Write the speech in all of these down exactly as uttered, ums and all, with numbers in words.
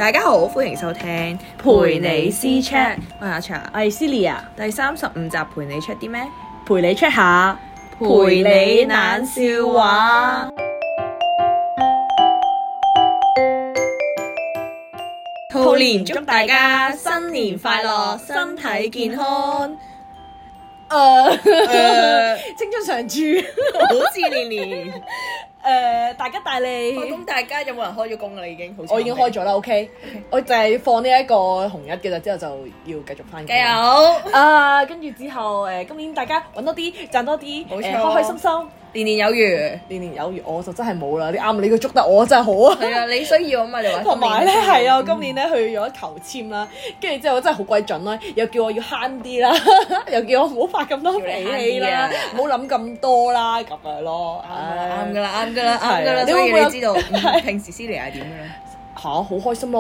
大家好，歡迎收聽陪你私 Chat，我係阿茶， 我係 Celia， 第三十五集陪你 check 啲咩？ 陪你 check 下， 陪你冷笑話。兔年祝大家新年快樂，身體健康。 誒、 誒青春常駐， 好似年年。 誒大吉大利。 咁大家有冇人開咗工㗎啦？已經好似我已經開咗啦 ，OK，, okay. 我就係放呢一個紅日嘅啦，之後就要繼續翻工。 加油！ 啊，跟住之後誒，今年大家揾多啲，賺多啲， 冇錯誒開開心心， 年年有餘。 年年有餘，我就真係冇啦。你啱，你個捉得我真係好啊！ 係啊，你需要啊嘛，你話。 同埋咧係啊，我今年咧去咗求籤啦，跟住之後真係好鬼準啦，又叫我要慳啲啦，又叫我唔好發咁多脾氣啦，唔好諗咁多啦，咁樣咯。 啱㗎啦，啱㗎啦，啱㗎啦， 你所以會唔會有你知道嗯平時 Celia 係點㗎啦？ 嚇，好開心啊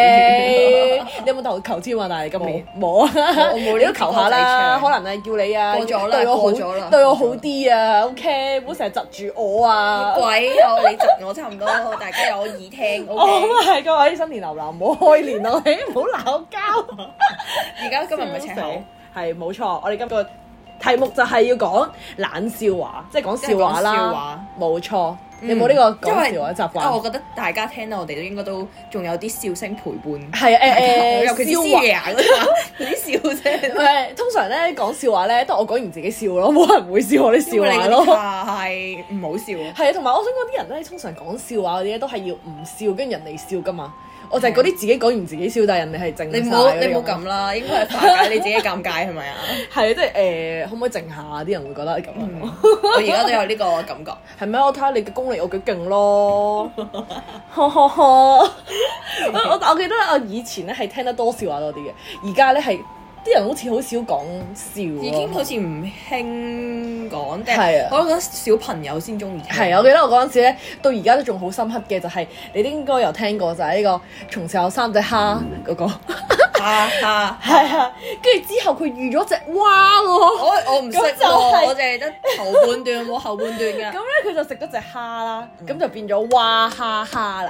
！OK，你有冇投求籤啊？但係今年冇啊， 我冇呢個你都求下啦，可過能係叫你啊， 咗啦， 對我過咗啦好，對我好啲啊！OK，唔好成日窒住我啊！ 鬼有你窒我差唔多，大家有耳聽。 哦， OK， 咁係各位新年流流，唔好開年啊！你唔好鬧交。 而家今日唔係赤口， 係冇錯，我哋今個題目就係要講冷笑話，即係講笑話即係講笑啦話。 冇錯，你有冇呢個講笑話習因為我慣？ 覺得大家聽到我哋都應該都仲有啲笑聲陪伴。 係啊誒誒， 尤其是笑話 Celia 嗰啲嗰啲笑聲。 誒，通常咧講笑話咧，都係我講完自己笑咯，冇人會笑我啲笑話咯。 係唔好笑。 係啊，同埋我想講啲人咧，通常講笑話嗰啲咧，都係要唔笑，跟住人哋笑噶嘛。我就係嗰啲自己講完自己笑，但係人哋係靜晒你唔好嗰啲你唔好咁咁啦，應該係化解你自己尷尬係咪啊？ 係啊，即係誒，可唔可以靜下？啲人會覺得咁樣。 我而家都有呢個感覺。 係咩？我睇下你嘅功力有幾勁咯。呵呵呵我我我記得我以前咧係聽得多笑話多啲嘅，而家咧係啲人好似好少講笑咯。 已經好似唔興講，定係啊我覺得小朋友先中意。 係啊，我記得我嗰陣時咧，到而家都仲好深刻嘅就係、你應該有聽過就係呢、個從前有三隻蝦嗰、個。 哈哈， 係啊，跟住之後佢遇咗隻蛙喎。 我我唔識咁就係喎，我淨係得頭半段冇後半段㗎。 咁咧佢就食咗隻蝦啦，咁、就變咗蛙蝦蝦啦。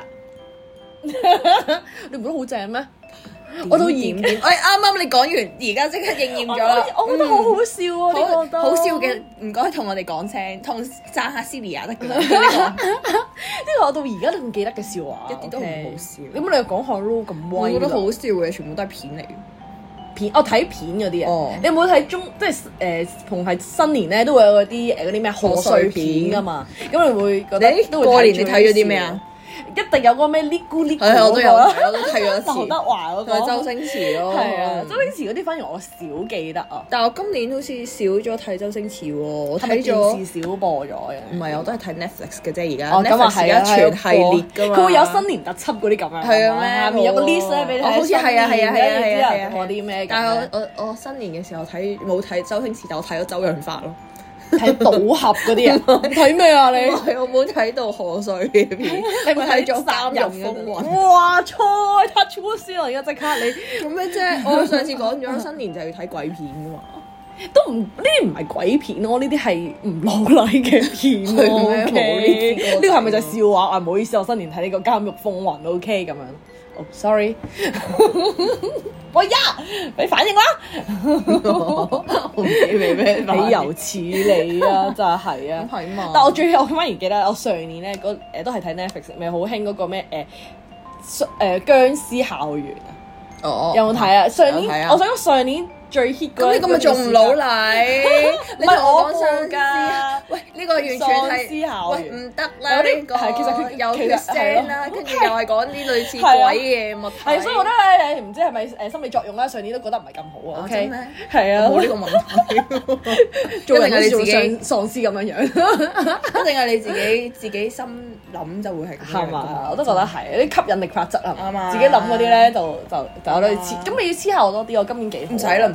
你唔覺得好正咩？我到而點點，哎啱啱你講完，而家即刻應驗咗啦。 我覺得好好笑啊！呢個都好好笑嘅，唔該同我哋講聲，同讚下 Celia 得㗎啦。 呢個我到而家都仲記得嘅笑話， 一啲都唔好笑咁你又講下咯，咁我威啦。 覺得好笑嘅，全部都係片嚟。 片，我睇片嗰啲哦啊。你有冇睇中即係誒逢係新年咧都會有嗰啲誒嗰啲咩賀歲片噶嘛？咁你會覺得你都會過年你最睇咗啲咩啊？ 一定有嗰個咩呢咕呢咕係，我都有嗰個睇，我都睇咗一次。 劉德華嗰個同埋周星馳咯。 係啊，周星馳嗰啲反而我少記得啊。 但係我今年好似少咗睇周星馳喎，我係咪睇咗。 電視少播咗嘅？ 唔係，我都係睇 Netflix 嘅啫，而家。 哦，咁啊 Netflix 而係啊， 家全系列㗎嘛。 佢會有新年特輯嗰啲咁樣。 係啊咩下面有個 list 咧俾你睇。 哦好似係啊係啊係啊係啊係啊嗰啲咩？ 但係我我我新年嘅時候睇冇睇周星馳，但我睇咗周潤發咯。 睇賭俠嗰啲啊？睇咩啊你？ 唔係我冇睇到賀歲嘅片， 你咪睇咗《 監監獄風雲》。 哇！錯 touch wood 先啊！而家即刻你做咩啫？我上次講咗新年就要睇鬼片㗎嘛。 都唔呢啲唔係鬼片咯，呢啲係唔老禮嘅片咯。 係咩 OK？ 冇呢啲呢個係咪就係笑話啊？唔好意思，我新年睇呢個《監獄風雲》OK 咁樣。哦，sorry。喂呀，俾反應啦！ 我唔知你咩反應豈有此理啊！就係啊。 係嘛？ 但我最我反而記得我上年咧嗰誒都係睇 Netflix 咪好興嗰個咩誒誒殭屍校園啊！ 哦， 有冇睇啊？上年有睇啊我想講上年最 hit 嗰咁你咁咪仲唔老禮？你唔係我同我講喪報㗎屍，喂呢個完全喪係屍校園喂唔得啦有啲呢個， 係其實佢有血其實腥啦， 係咯跟住又係講啲類似係啊鬼嘅物體。 係，所以我覺得咧唔知係咪誒心理作用啦，上年都覺得唔係咁好啊。 啊 OK， 真咩係啊， 冇呢個問題， 做人一定係你自己， 喪喪屍咁樣樣， 一定係你自己自己心諗就會係咁樣係嘛？我都覺得係啲吸引力法則啊， 啱啊自己諗嗰啲咧就就就有得黐，咁你要黐下我多啲，我今年幾好唔使啦唔使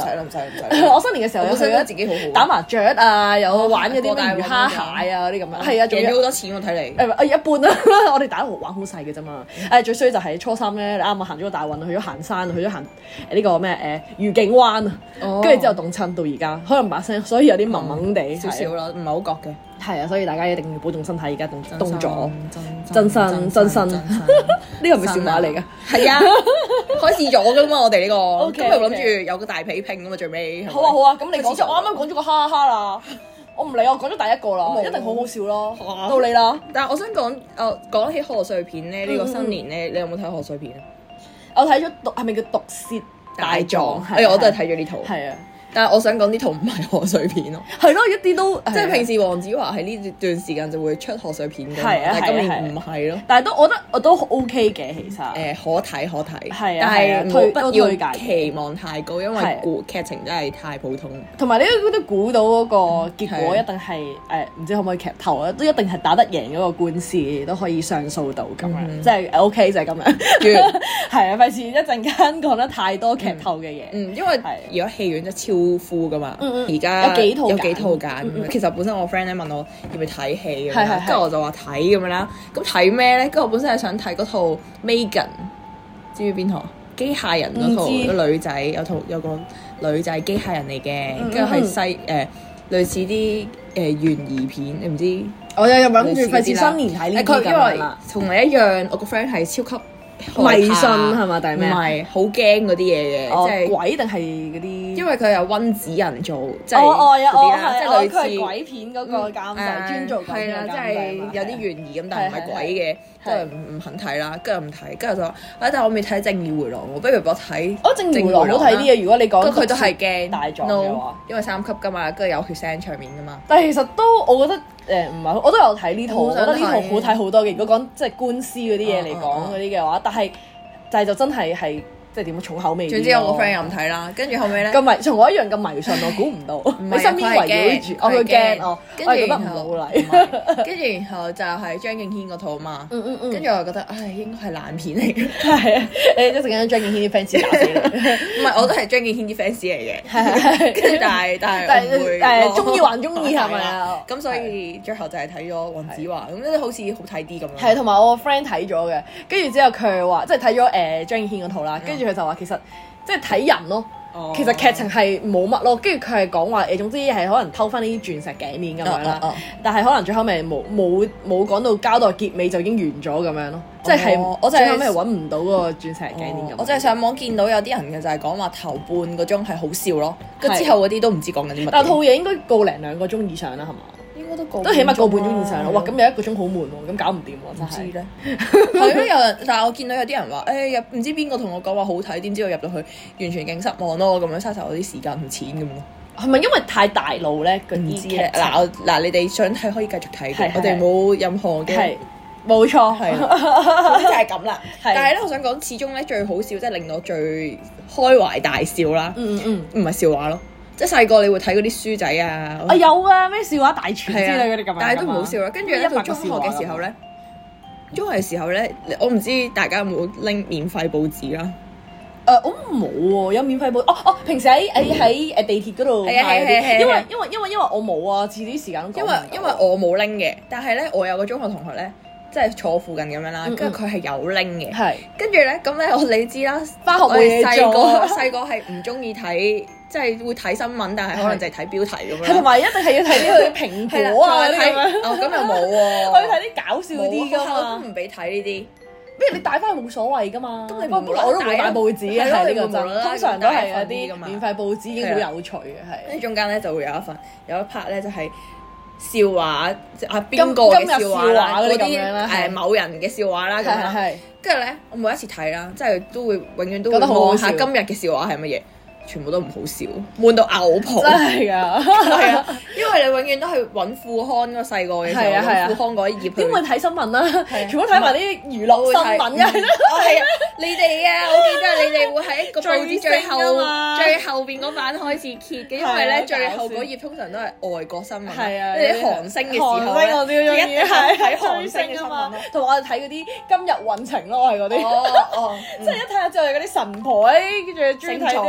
啦。 唔使唔使。 我新年嘅時候有去覺得咗自己好好打麻雀啊，有玩嗰啲咩魚蝦蟹啊嗰啲咁樣。係啊，仲贏咗有好多錢喎，睇嚟。 誒誒一般啦，我哋打玩好細嘅啫嘛。誒最衰就係初三咧，你啱啱行咗個大運，去咗行山，去咗行誒呢個咩誒愉景灣啊，跟住之後凍親到而家，可能把聲，所以有啲濛濛地少少啦，唔係好覺嘅。 係啊，所以大家一定要保重身體，而家凍凍咗， 真真身真身，呢個係咪笑話嚟㗎？ 係啊，開始咗㗎嘛，我哋呢個， OK， 今日諗住有個大比拼㗎嘛，最尾。 好啊好啊，咁你講開始咗咗，我啱啱講咗個哈哈啦，我唔理，我講咗第一個啦， 冇一定好好笑咯， 哇到你啦。 但係我想講，誒講起賀歲片咧，呢個新年咧，你有冇睇賀歲片啊？ 我睇咗毒係咪叫毒舌大狀？ 哎呀，我都係睇咗呢套。 係啊。 但係我想講呢套唔係賀歲片咯， 係咯，一啲都即係平時黃子華喺呢段時間就會出賀歲片嘅， 係啊但係今係啊年唔係咯。 但係都我覺得我都 OK 嘅，其實誒可睇可睇， 係啊但係啊係推冇不要都推介嘅期望太高，因係為故劇情真係太普通。 同埋你都都估到嗰個結果係一定係誒唔知可唔可以劇透啊？都一定係打得贏嗰個官司，都可以上訴到咁樣， 嗯即係 OK 就係咁樣。 完係啊，費事一陣間講得太多劇透嘅嘢。 嗯，因為係而家戲院真係超 full 噶嘛， 嗯嗯而家有幾套揀有幾套揀嗯嗯其實本身我 friend 咧問我要唔要睇戲咁樣， 係係係跟住我就話睇咁樣啦。咁睇咩咧？跟住我本身係想睇嗰套 Megan，知唔知邊套啊？機械人嗰套， 唔知個女仔有套有個女仔機械人嚟嘅， 嗯嗯跟住係西誒、呃、類似啲誒懸疑片，你唔知？ 我又又諗住類似嗰啲啦費事新年睇呢啲咁誒佢因為樣啦。 同你一樣，我個 friend 係超級迷信係係嘛？定係咩啊？ 唔係好驚嗰啲嘢嘅， 哦即係。 鬼定係嗰啲？ 因為佢有温子仁做，即係哦哦有嗰啲啦， 哦係即係類哦佢係似鬼片嗰個監製，專做鬼係啦， 片嘅監即係製嘛有啲懸疑咁，但係唔係鬼嘅，即係係唔唔肯睇啦，跟住唔睇，跟住就話，啊但係我未睇《正義回廊》喎，不如我睇。 我正義回廊好睇啲嘅，如果你講不過佢都係驚大狀嘅 no， 話， 因為三級㗎嘛，跟住有血腥場面㗎嘛。 但係其實都我覺得誒唔係，我都有睇呢套， 我好想我覺得呢套睇好睇好多嘅。如果講即係官司嗰啲嘢嚟嗯嗯講嗰啲嘅話，但係但係就真係係即係點樣重口味啲咯。 總之我個 friend 又唔睇啦，跟住後尾咧。 咁迷，同我一樣咁迷信，我估唔到。 唔係你身邊圍繞住，我佢驚哦， 跟我係覺得唔住然後老禮。 唔係跟住然後就係張敬軒嗰套啊嘛， 嗯嗯嗯跟住我就覺得唉應該係爛片嚟嘅， 係啊，誒一陣間張敬軒啲 fans 打死你。 唔係我都係張敬軒啲 fans 嚟嘅， 係係跟住但係但係但我唔會係誒咯中意還中意係咪啊？ 咁所以最後就係睇咗黃子華，咁咧好似好睇啲咁樣。 係，同埋我個 friend 睇咗嘅，跟住之後佢話，即係睇咗誒張敬軒嗰套啦，跟住佢就話其實即係睇人咯。 哦其實劇情係冇乜咯，跟住佢係講話誒，總之係可能偷翻啲鑽石頸鏈咁樣啦。 哦哦哦但係可能最後尾冇冇冇講到交代結尾就已經完咗咁樣咯，即係哦我就係最後尾揾唔到嗰個鑽石頸鏈咁樣。 我就係上網見到有啲人嘅就係講話頭半個鐘係好笑咯，跟係之後嗰啲都唔知講緊啲乜嘢。 但係套嘢應該個零兩個鐘以上啦，係嘛？ 應該都個都起碼個半鐘以上咯。哇，咁咁有一個鐘好悶喎，咁搞唔掂喎，真係。 知咧，係咯，有人，但係我見到有啲人話，誒入唔知邊個同我講話好睇，點知我入到去完全勁失望咯，咁樣嘥晒我啲時間同錢咁咯。 係咪因為太大路咧？嗰啲劇唔知咧， 情嗱我嗱你哋想睇可以繼續睇嘅， 係係我哋冇任何嘅係冇錯， 係總之就係咁啦。 係但係咧，我想講始終咧最好笑，即係令我最開懷大笑啦， 嗯嗯嗯。 唔係笑話咯，即係細個你會睇嗰啲書仔啊， 啊有啊，咩笑話大全之係啊類嗰啲咁樣㗎嘛， 但係都唔好笑啦。跟住咧一百個到中學笑話嘅時候咧，中學嘅時候咧，我唔知大家有冇拎免費報紙啦。 誒我冇喎，有免費報哦哦，平時喺喺喺誒地鐵嗰度係啊派嗰啲， 係啊係啊因為因為因為因為我冇啊，遲啲時間都講因為唔到因為我冇拎嘅，但係咧我有個中學同學咧，即係坐附近咁樣啦， 嗯嗯跟住佢係有拎嘅。 係跟住咧，咁咧我你知啦， 返學冇嘢做我哋細個細個係唔中意睇，即係會睇新聞，但係可能就係睇標題咁樣。 係同埋一定係要睇啲佢蘋係啦果啊嗰仲係睇啲咁樣， 哦咁又冇喎， 我要睇啲搞笑啲㗎冇學校嘛都。唔俾睇呢啲。 不如你帶翻去冇所謂㗎嘛。 咁你不過我都冇帶報紙嘅， 係咯係呢個你會無啦啦真。通常都係有帶一份㗎啲嘛免費報紙已經好有趣嘅，係。 跟住中間咧就會有一份有一 part 咧就係笑話，即係啊邊個嘅今日笑話啦， 笑話嗰啲咁啲樣啦係誒某人嘅笑話啦咁係係樣。 係。 跟住咧，我每一次睇啦，即係都會永遠都會覺得好好笑望下今日嘅笑話係乜嘢，全部都唔好笑，悶到嘔泡。 真係㗎。 係啊，因為你永遠都係揾副刊嗰個細個嘅時候， 係啊係啊揾副刊嗰一頁去。 點會睇新聞啦？ 係啊全部睇埋啲娛樂新聞嘅。 哦係啊，你哋啊，我記得你哋會喺一個報紙最後追星啊嘛最後邊嗰版開始揭嘅，因為係啊咧最後搞笑嗰頁通常都係外國新聞， 係啊， 你哋韓星嘅時候韓星我都咧， 中意一定係睇韓追星嘅新聞星啊嘛咯。， 同埋我哋睇嗰啲今日運程咯，我係嗰啲， 哦哦， 即係一睇下就係嗰啲神婆誒，跟住中意睇啲係星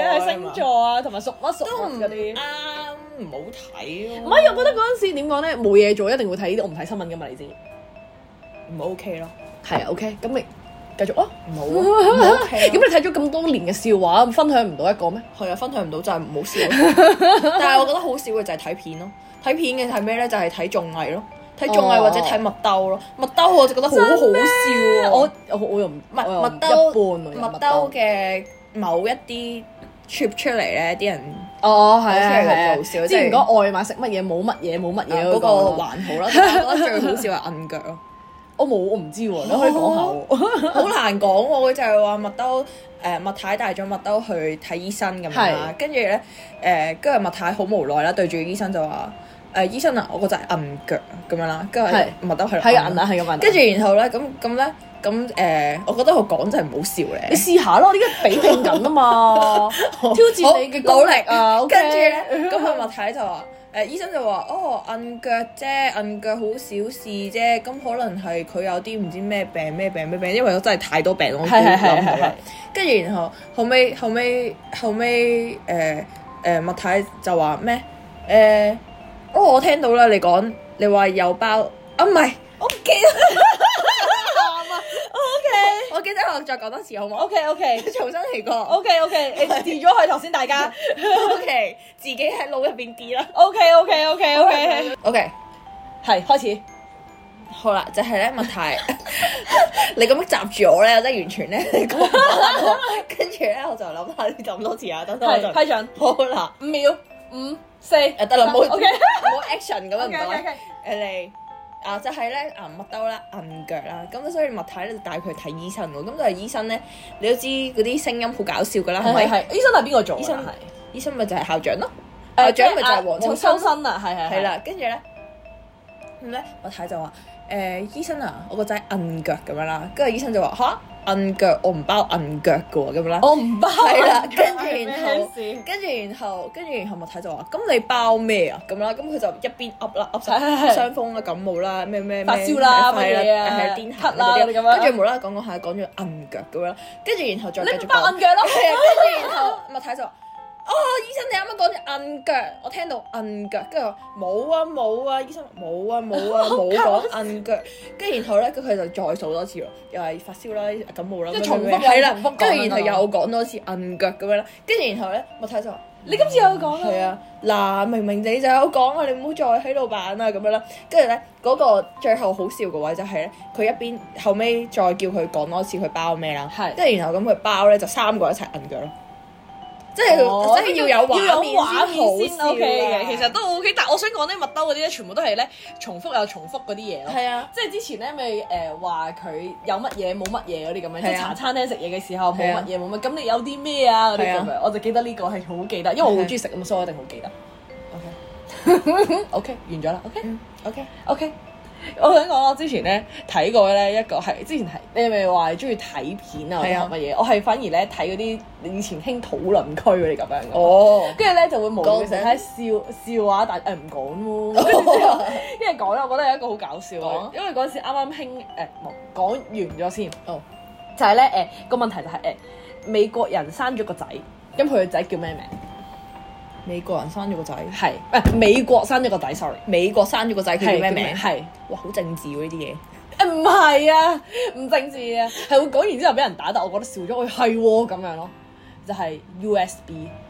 星座啊，同埋屬乜屬乜嗰啲。 啱，唔好睇咯。 唔係，我覺得嗰陣時點講咧，冇嘢做一定會睇呢啲，我唔睇新聞噶嘛，你知。 唔 OK 咯。 係啊 ，OK，咁你繼續啊。 唔好啊，唔 OK 咁你睇咗咁多年嘅笑話，分享唔到一個咩？ 係啊，分享唔到就係唔好笑。但係我覺得好笑嘅就係睇片咯。睇片嘅係咩咧？就係睇綜藝咯。睇綜藝或者睇麥兜咯，麥兜我就覺得好好笑啊！ 我我我又唔麥麥一兜般麥兜嘅某一啲 trip 出嚟咧，啲人哦係啊係啊， 做笑。 之前講外賣食乜嘢冇乜嘢冇乜嘢嗰個還好啦，但係我覺得最好笑係摁腳咯。 我冇我唔知喎，你可以講下喎。 好難講喎，佢就係話麥兜誒麥太帶咗麥兜去睇醫生咁樣啦，跟住咧誒跟住麥太好無奈啦，對住醫生就話。誒醫生啊，我個仔係摁腳咁樣啦，跟住麥兜係係摁啊，係咁摁。 跟住然後咧，咁咁咧，咁誒，我覺得佢講真係唔好笑咧。 你試下咯，呢個比拼緊啊嘛，挑戰你嘅努力啊。 跟住咧，咁阿麥太就話誒醫生就話哦摁腳啫，摁腳好小事啫，咁可能係佢有啲唔知咩病咩病咩病，因為我真係太多病我估諗到啦。跟住然後後尾後尾後尾誒誒麥太就話咩誒？哦，我聽到啦，你講你話有包啊，唔係，我唔記得。啱啊 ，OK，我記得我再講多次好唔好 ？OK OK， 重新嚟過。 OK OK，你 delete 咗佢頭先，大家 OK，自己喺腦入邊 delete 啦。 OK OK OK OK OK， 係開始。 好啦，就係咧麥太，你咁樣閘住我咧，我真係完全咧講唔到。跟住咧，我就諗下你咁多次啊，等等我就批准。 好啦， 五秒，五。四誒得啦，冇冇 OK action 咁樣唔該。誒你啊就係咧啊麥兜啦，摁腳啦，咁所以麥太咧就帶佢去睇醫生喎。咁就係醫生咧，你都知嗰啲聲音好搞笑㗎啦，係咪？ 係醫生係邊個做？ 醫生係醫生咪就係校長咯， 校校長咪就係黃秋生生啊，係係係啦。跟住咧咁咧，麥太就話誒醫生啊，我個仔摁腳咁樣啦，跟住醫生就話吓？摁腳我唔包摁腳嘅喎，咁樣啦， 我唔包。 係啦，跟住然後，跟住然後，跟住然後麥太就話：咁你包咩啊？咁啦，咁佢就一邊噏啦，噏晒傷風啦、感冒啦、咩咩發燒啦、 乜嘢啊、係癲癇啦嗰啲咁樣。跟住無啦啦講講下講咗摁腳咁樣，跟住然後再繼續講。 你包摁腳咯。 係啊，跟住然後麥太就話：哦，醫生你啱啱講咗摁腳，我聽到摁腳，跟住話冇啊冇啊，醫生冇啊冇啊冇講摁腳，跟住然後咧，咁佢就再數多次咯，又係發燒啦、感冒啦， 即係重複係啦， 重複講跟住然後又講多次摁腳咁樣啦，跟住然後咧，麥太就話： 你今次有講啊？ 係啊，嗱，明明你就有講啊，你唔好再喺度扮啦咁樣啦。跟住咧，嗰個最後好笑嘅位就係咧，佢一邊後尾再叫佢講多次佢包咩啦，跟住然後咁佢包咧就三個一齊摁腳咯。即係即係要有畫面先好笑嘅， 其實都 OK。但係我想講咧，麥兜嗰啲咧，全部都係咧重複又重複嗰啲嘢咯。 係啊， 即係之前咧咪誒話佢有乜嘢冇乜嘢嗰啲咁樣，即係茶餐廳食嘢嘅時候冇乜嘢冇乜，咁你有啲咩啊嗰啲咁樣，我就記得呢個係好記得，因為我好中意食咁，所以我一定好記得。OK OK 完咗啦。OK OK OK。我想講我之前咧睇過咧一個係之前係你係咪話中意睇片啊或者學乜嘢？我係反而咧睇嗰啲以前興討論區嗰啲咁樣嘅。哦，跟住咧就會無聊成日喺笑笑話，但誒唔講喎。跟住之後，因為講咧，我覺得有一個好搞笑嘅，因為嗰陣時啱啱興誒冇講完咗先。哦，就係咧誒個問題就係誒美國人生咗個仔，咁佢個仔叫咩名？ 美國人生咗個仔， 係誒美國生咗個仔 ，sorry， 美國生咗個仔，佢叫咩名？ 係哇，好政治喎呢啲嘢。 誒唔係啊，唔政治啊，係會講完之後俾人打，但我覺得笑咗，我係喎咁樣咯，就係 U S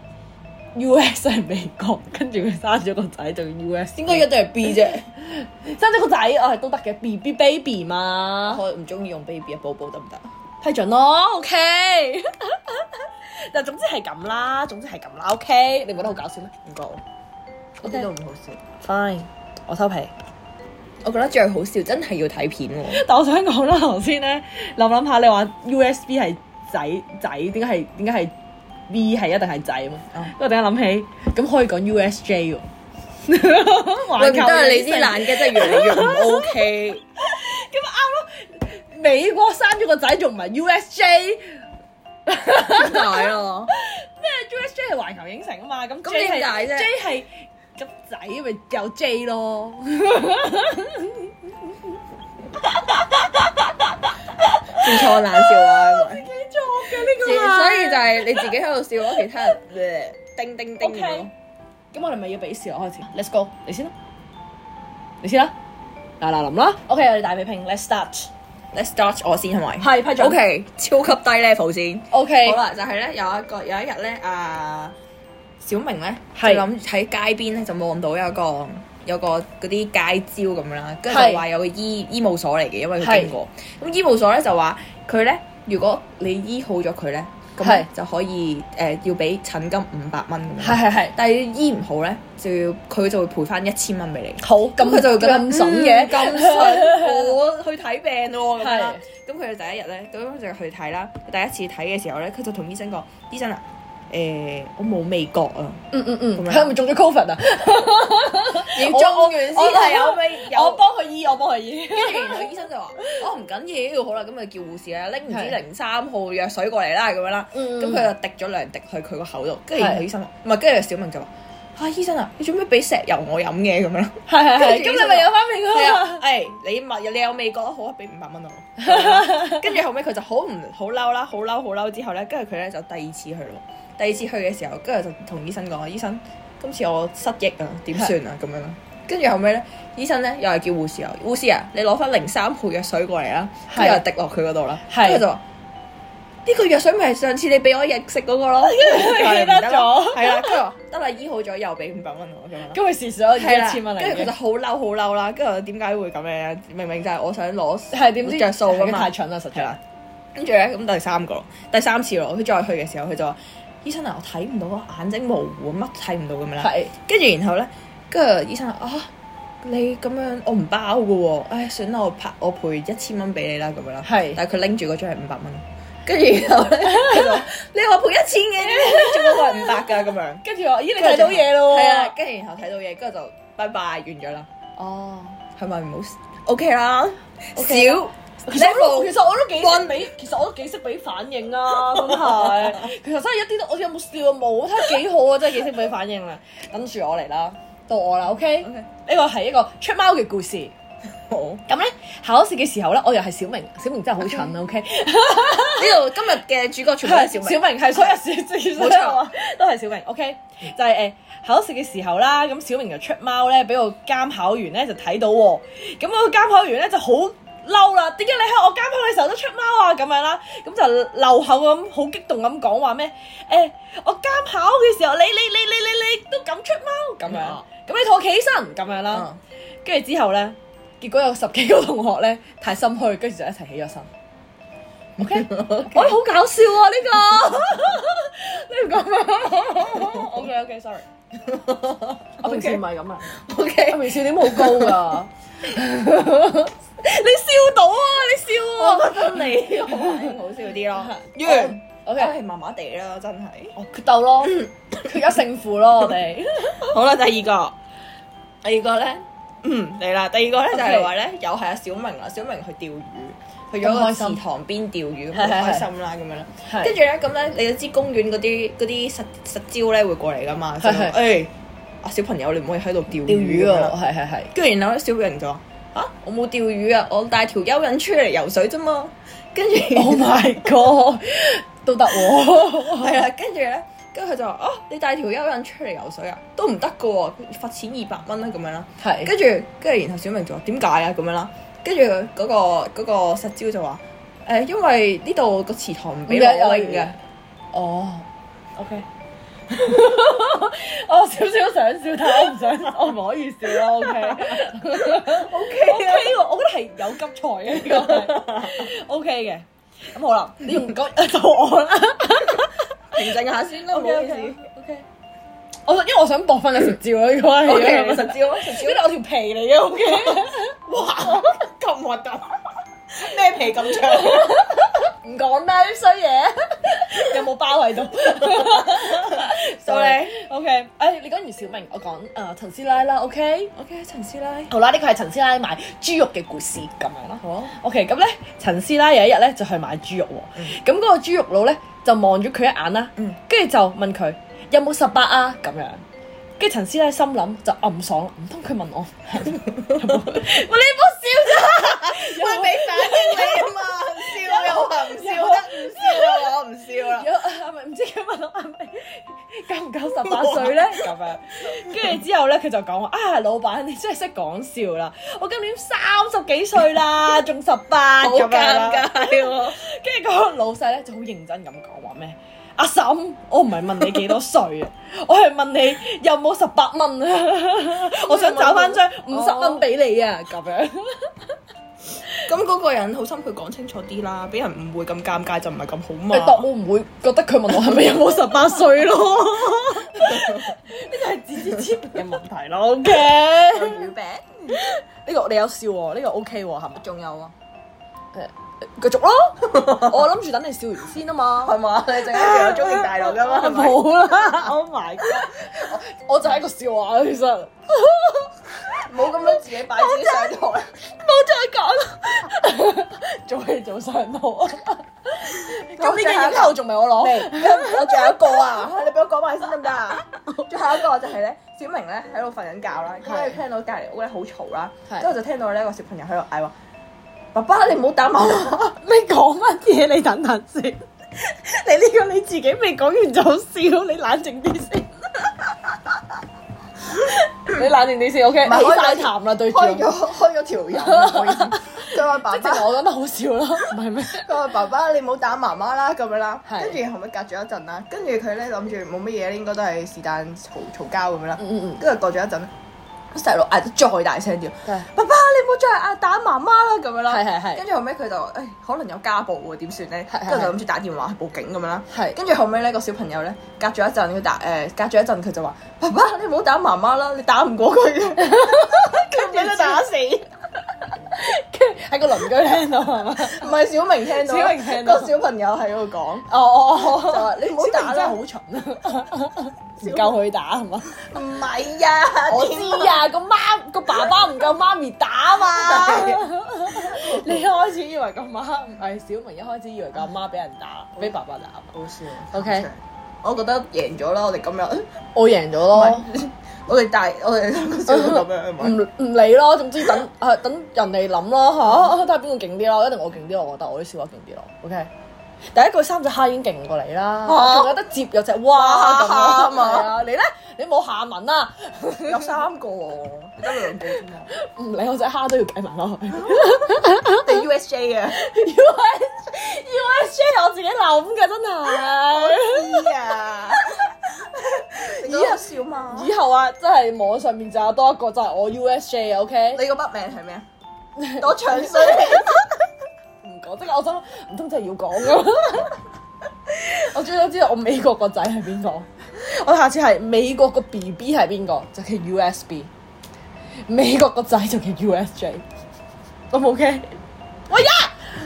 B，U S 係美國，跟住佢生咗個仔就 U S， 應該一定係 B 啫， 生咗個仔我係都得嘅 ，B B baby 嘛， 我唔中意用 baby 啊，寶寶得唔得？ 批准咯 ，OK。但總之係咁啦，總之係咁啦 ，OK。你覺得好搞笑咩？ 唔覺我，我覺得唔好笑。 Fine，我收皮。 我覺得最好笑真係要睇片喎。 但我想講啦，頭先咧諗諗下，你話 U S B 係仔仔，點解係點解係 V 係一定係仔啊嘛？因為我突然間諗起，咁可以講 U S J 喎。 喂，唔得啊！你啲爛嘅真係越嚟越唔 OK。 咁啱咯，美國生咗個仔仲唔係 U S J？ 點解啊？ 咩 U S J 係環球影城啊嘛，咁咁點解啫 ？J 係咁仔咪有 J 咯。 自創冷笑話， 自己作嘅呢個， 所以就係係你自己喺度笑咯，其他人叮叮叮咁咯。 咁我哋咪要比試咯，開始 ，Let's go，你先啦，你先啦，嗱嗱臨啦 ，OK， 我哋大比拼 ，Let's start，Let's start 我先係咪？ 係批准 OK， 超級低 level 先。 OK， 好啦，就係咧有一個有一日咧，啊小明咧就係諗喺街邊咧就望到有個有個嗰啲街招咁樣啦，跟住就話有個醫醫務所嚟嘅，因為佢經過。咁醫務所咧就話佢咧，如果你醫好咗佢咧，咁就可以誒要俾診金五百蚊咁樣。 係係係， 但係醫唔好咧，就要佢就會賠翻一千蚊俾你。 好， 咁佢就會覺得咁筍嘅， 咁筍，我去睇病咯咁樣啦。 係。 咁佢哋第一日咧，咁就去睇啦。第一次睇嘅時候咧，佢就同醫生講：醫生啊，誒我冇味覺啊。 嗯嗯嗯， 咁樣佢係咪中咗 Covid 啊？ 要中完先係有味有。 我幫佢醫，我幫佢醫。 跟住然後醫生就話：哦唔緊要，好啦，咁就叫護士啦，拎唔知零三號藥水過嚟啦，咁樣啦。咁佢就滴咗兩滴去佢個口度，跟住然後醫生話：唔係，跟住小明就話：啊醫生啊，你做咩俾石油我飲嘅咁樣啦？ 係係係，咁你咪有翻味係㗎啊，誒你咪你有味覺好啊，俾五百蚊我。跟住後尾佢就好唔好嬲啦，好嬲好嬲之後咧，跟住佢咧就第二次去咯。第二次去嘅時候，跟住就同醫生講：醫生，今次我失憶啊，點算啊？咁樣啦。跟住後尾咧，醫生咧又係叫護士啊，護士啊，你攞翻零三號藥水過嚟啦，跟住又滴落佢嗰度啦。跟住就話：呢個藥水咪係上次你俾我食食嗰個咯。 記得咗， 係啦，跟住話得啦，醫好咗又俾五百蚊我咁樣。 咁佢蝕咗一千蚊嚟嘅。 跟住佢就好嬲好嬲啦，跟住我點解會咁樣？明明就係我想攞係點知着數㗎嘛。 太蠢啦，實在。 跟住咧，咁第三個，第三次咯，佢再去嘅時候，佢就話：醫生啊，我睇唔到啊，眼睛模糊，乜睇唔到咁樣啦。係。跟住然後咧，跟住醫生話：啊，你咁樣我唔包嘅喎，唉，算啦，我拍我賠一千蚊俾你啦，咁樣啦。係。但係佢拎住嗰張係五百蚊。跟住然後咧，佢就話：你話賠一千嘅，仲嗰個係五百㗎咁樣。跟住我：咦，你睇到嘢咯喎？係啊，跟住然後睇到嘢，跟住就拜拜完咗啦。哦，係咪唔好 OK 啦？少。 其實我其實我都幾識俾，其實我都幾識俾反應啊！真係，其實真係一啲都，我有冇笑啊？冇，睇下幾好啊！真係幾識俾反應啊！等住我嚟啦，到我啦，OK？呢個係一個出貓嘅故事。好。咁咧考試嘅時候咧，我又係小明，小明真係好蠢啊 ！OK？ 呢度今日嘅主角全部係小明， 小明係所有小冇錯，都係小明。OK？就係誒考試嘅時候啦，咁小明就出貓咧，俾個監考員咧就睇到喎，咁嗰個監考員咧就好嬲啦！點解你喺我監考嘅時候都出貓啊？咁樣啦，咁就漏口咁，好激動咁講話咩？誒，我監考嘅時候，你你你你你你都敢出貓咁樣，咁你同我企起身咁樣啦。跟住之後咧，結果有十幾個同學咧太心虛，跟住就一齊起咗身。OK，我覺得好搞笑啊！呢個呢個咁樣。OK OK，sorry。我平時唔係咁啊。OK，我平時點好高噶。你笑到啊！你笑啊！ 我覺得你好好笑啲咯。完，OK，係麻麻地啦，真係。 哦，決鬥咯，決一勝負咯，我哋。 好啦，第二個，第二個咧，嗯嚟啦。第二個咧就係話咧，又係阿小明啦。小明去釣魚，去咗個池塘邊釣魚，咁好開心啦，咁樣啦。跟住咧，咁咧，你都知公園嗰啲嗰啲實實招咧會過嚟噶嘛？係係。誒，阿小朋友，你唔可以喺度釣魚啊！ 係係係。跟住然後咧，小明就話。啊！我冇釣魚啊，我帶條蚯蚓出嚟游水啫嘛。跟住 ，Oh my God，都得喎。 係啊，跟住咧，跟住佢就話：哦，你帶條蚯蚓出嚟游水啊，都唔得噶喎，罰錢二百蚊啦咁樣啦。係。跟住，跟住然後小明就話：點解啊？咁樣啦。跟住嗰個嗰個實招就話：誒，因為呢度個池塘唔俾我泳嘅。哦。OK。 我少少想笑，但係我唔想，我唔可以笑咯。OK，OK 啊，OK 喎，我覺得係有急才嘅呢個係 OK 嘅。咁好啦，你用嗰到我啦， 平靜下先啦，唔好意思。 OK，我因為我想搏翻個實招咯，呢個係。 OK，實招啊，實招。 呢度我條皮嚟嘅 OK。 哇，咁核突！咩皮咁長？ 唔講啦啲衰嘢，有冇包喺度？ 到你 OK，誒你講完小明，我講誒陳師奶啦 OK，OK 陳師奶。 好啦，呢個係陳師奶買豬肉嘅故事咁樣啦。 好 OK，咁咧陳師奶有一日咧就去買豬肉喎，咁嗰個豬肉佬咧就望咗佢一眼啦，跟住就問佢有冇十八啊咁樣。跟住陳師奶心諗就暗爽，唔通佢問我？喂，你唔好笑咋？ 喂，俾反應你啊嘛，笑又話唔笑得，唔笑啦，我唔笑啦。 係咪唔知佢問我係咪夠唔夠十八歲咧？咁樣，跟住之後咧，佢就講話啊，老闆你真係識講笑啦！我今年三十幾歲啦，仲十八咁樣啦。 好尷尬喎！ 跟住嗰個老細咧就好認真咁講話咩？阿嬸，我唔係問你幾多歲啊，我係問你有冇十八蚊啊！我想找翻張五十蚊俾你啊！咁樣。 咁嗰個人好心佢講清楚啲啦，俾人誤會咁尷尬就唔係咁好嘛。 誒，我唔會覺得佢問我係咪有冇十八歲咯？呢個係自知之明嘅問題咯。OK， 魚餅呢個你有笑喎，呢個 OK 喎，係咪？ 仲有啊？ 誒，繼續咯。我諗住等你笑完先啊嘛。 係嘛？你陣間仲有中年大陸噶嘛？係咪？ 冇啦！Oh my god！我就係一個笑話其實。 冇咁樣自己擺自己上台， 冇再講啦。做戲做上腦啊！咁呢個影後仲未我攞， 我仲有一個啊！你俾我講埋先得唔得啊？最後一個就係咧，小明咧喺度瞓緊覺啦，咁咧聽到隔離屋咧好嘈啦，之後就聽到呢個小朋友喺度嗌話：爸爸你唔好打媽媽！ 你講乜嘢？你等等先，你呢個你自己未講完就笑，你冷靜啲先。你冷靜啲先 ，OK？起晒痰啦，對住。 開咗開咗條人，唔好意思。佢話爸爸， 我覺得好笑啦，唔係咩？ 佢話爸爸你唔好打媽媽啦咁樣啦， 係跟住後尾隔咗一陣啦，跟住佢咧諗住冇乜嘢，應該都係是但嘈嘈交咁樣啦。 嗯嗯嗯。 跟住過咗一陣咧，細路嗌得再大聲啲，爸爸你唔好再嗌打媽媽啦咁樣啦。 係係係。 跟住後尾佢就誒可能有家暴喎，點算咧？ 係係跟住就諗住打電話報警咁樣啦。 係。 跟住後尾咧個小朋友咧隔咗一陣佢打誒隔咗一陣佢就話：爸爸你唔好打媽媽啦，你打唔過佢嘅，跟住俾佢打死。 跟住喺個鄰居聽到係嘛？ 唔係小明聽到， 小明聽到個小朋友喺度講。 哦哦哦， 就話你唔好打啦， 真係好蠢啊！唔夠佢打係嘛？ 唔係啊， 我知啊，個媽個爸爸唔夠媽咪打嘛。你一開始以為個媽唔係小明，一開始以為個阿媽俾人打，俾爸爸打。 好笑。 OK， 我覺得贏咗啦，我哋今日我贏咗咯。 我哋大我哋兩個笑到咁樣， 唔唔理咯，總之等誒等人哋諗咯嚇，睇下邊個勁啲咯，一定我勁啲，我覺得我啲笑話勁啲咯。OK，第一句三隻蝦已經勁過你啦，仲有得接有隻蛙咁樣，係啊，你咧你冇下文啊， 有三個喎，得兩個啫嘛， 唔理我隻蝦都要計埋落去。 你 U S J 嘅 U S U S J 我自己諗嘅真係， 知啊。你覺得笑嘛？ 以後啊，真係網上面就有多一個，就係我 U S J，OK？ 你個筆名係咩啊？我長衰唔講，即係我想唔通真係要講㗎？我最想知道我美國個仔係邊個？我下次係美國個 B B 係邊個？就叫 U S B。美國個仔就叫 U S J。O 唔 OK？喂呀！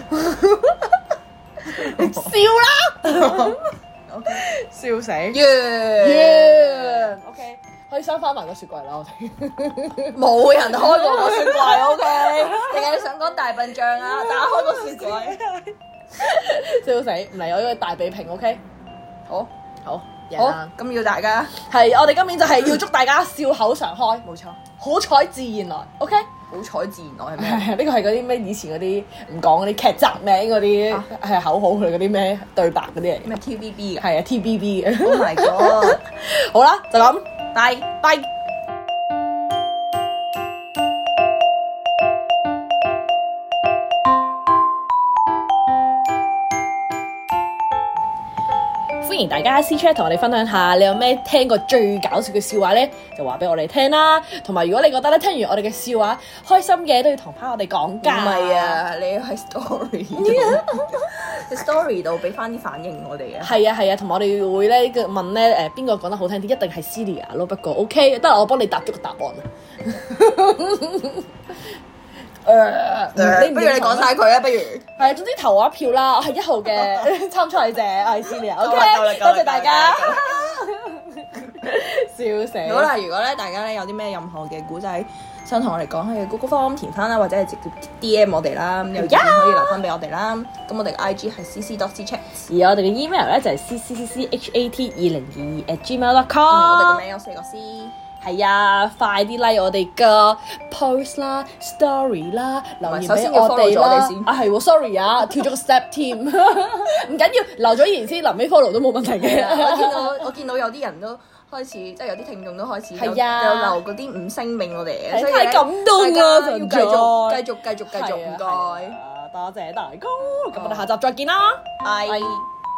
你笑啦！ OK， 笑死！ 完完 OK，可以收翻埋個雪櫃啦，我哋冇人開過個雪櫃 OK，定係你想講大笨象啊？打開個雪櫃， 笑死！唔嚟我呢個大比拼 OK， 好， 好， 好，咁要大家係我哋今年就係要祝大家笑口常開， 冇錯， 好彩自然來 OK。 好彩自然來係咩？ 係呢個係嗰啲咩以前嗰啲唔講嗰啲劇集名嗰啲係口號佢嗰啲咩對白嗰啲嚟， 咩 T V B 嘅？ 係啊 T V B 嘅。 Oh my god！ 好啦，就咁， 拜拜。歡迎大家私 chat 同我哋分享下，你有咩聽過最搞笑嘅笑話咧？就話俾我哋聽啦。同埋如果你覺得咧聽完我哋嘅笑話開心嘅，都要同翻我哋講㗎。 唔係啊，你喺 story 度，story 度俾翻啲反應我哋啊。 係啊係啊，同埋我哋會咧問咧誒邊個講得好聽啲，一定係 Celia 咯。不過 OK，得我幫你答咗個答案啊。誒、uh, 你不如你講晒佢啊，不如係總之投我一票啦，我係一號嘅參賽者，我係 Celia，OK，多謝大家，笑死！ 好啦，如果咧大家咧有啲咩任何嘅古仔想同我哋講，可以 Google Form 填翻啦，或者係直接 D M 我哋啦，咁有意見可以留翻俾我哋啦。咁我哋嘅 I G 係 C C dot C Chat， 而我哋嘅 email 咧就係 C C C C H A T 二零二二 at gmail dot com。 我哋個名有四個 C。 係啊，快啲 like 我哋嘅 post 啦、story 啦，留言俾首先要我 follow 哋啦。 咗我哋先啊係喎，sorry 啊，跳咗個 step 添，唔緊要，留咗言先，臨尾 follow 都冇問題嘅。 我見到我見到有啲人都開始，即係有啲聽眾都開始有係啊有留嗰啲五星俾我哋嘅， 係所以太感動啊大家要繼實在續繼續繼續繼續唔係啊該， 係啊多謝大哥，咁我哋下集再見啦， 拜。 拜。